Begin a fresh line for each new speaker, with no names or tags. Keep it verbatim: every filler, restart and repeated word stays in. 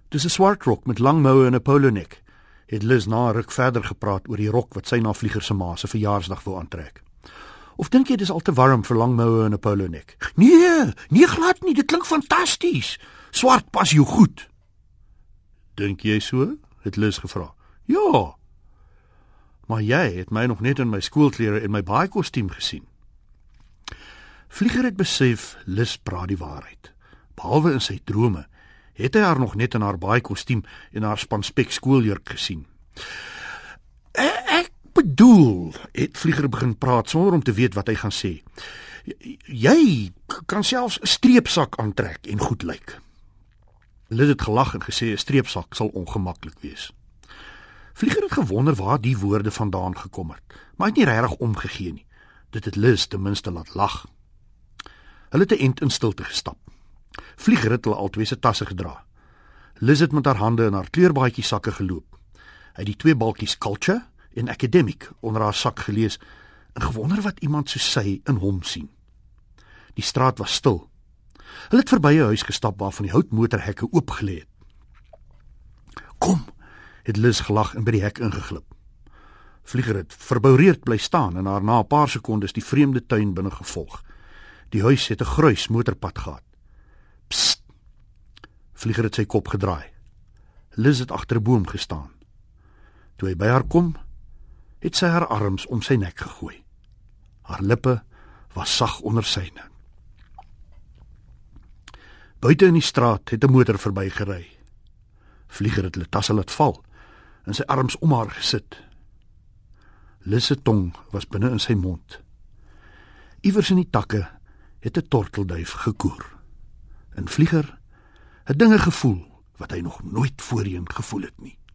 Dis 'n swart rok met lang moue en 'n polonek, het Liz na 'n ruk verder gepraat oor die rok wat sy na Vlieger se ma se verjaarsdag wou aantrek. Of dink jy dis al te warm vir lang moue en 'n polonek? Nee, nee glad nie, dit klink fantasties. Swart pas jou goed. Dink jy so? Het Liz gevra. Ja. Maar jy het my nog net in my skoolklere en my baai-kostuum gesien. Vlieger het besef Liz praat die waarheid. Behalwe in sy drome het hy haar nog net in haar baai-kostuum en haar spanspek skooljurk gesien. Ek bedoel, het Vlieger begin praat sonder om te weet wat hy gaan sê. Jy kan selfs 'n streepsak aantrek en goed lyk. Liz het gelag en gesê 'n streepsak sal ongemaklik wees. Vlieger het gewonder waar die woorde vandaan gekom het, maar hy het nie regtig omgegee nie. Dit het Liz ten minste laat lag. Hulle het 'n ent in stilte gestap. Vlieger het hulle albei se tasse gedra. Liz het met haar hande in haar kleurbaadjie sakke geloop. Hy het die twee balkies Culture en Academic onder haar sak gelees en gewonder wat iemand soos sy in hom sien. Die straat was stil. Hulle het verby 'n huis gestap waarvan die houtmotorhekke oopgelê het. Kom, het Liz gelag en by die hek ingeglip. Vlieger het verboureerd bly staan en haar na 'n paar sekondes die vreemde tuin binne gevolg. Die huis het 'n gruis motorpad gehad. Psst! Vlieger het sy kop gedraai. Liz het agter 'n boom gestaan. Toe hy by haar kom, het sy haar arms om sy nek gegooi. Haar lippe was sag onder syne. Buite in die straat het 'n motor verbygery. Vlieger het hulle tasse laat val en sy arms om haar gesit. Liz se tong was binne in sy mond. Iewers in die takke het 'n tortelduif gekoer. En Vlieger het dinge gevoel wat hy nog nooit voorheen gevoel het nie.